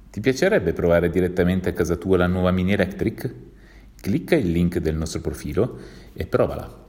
Ti piacerebbe provare direttamente a casa tua la nuova Mini Electric? Clicca il link del nostro profilo e provala.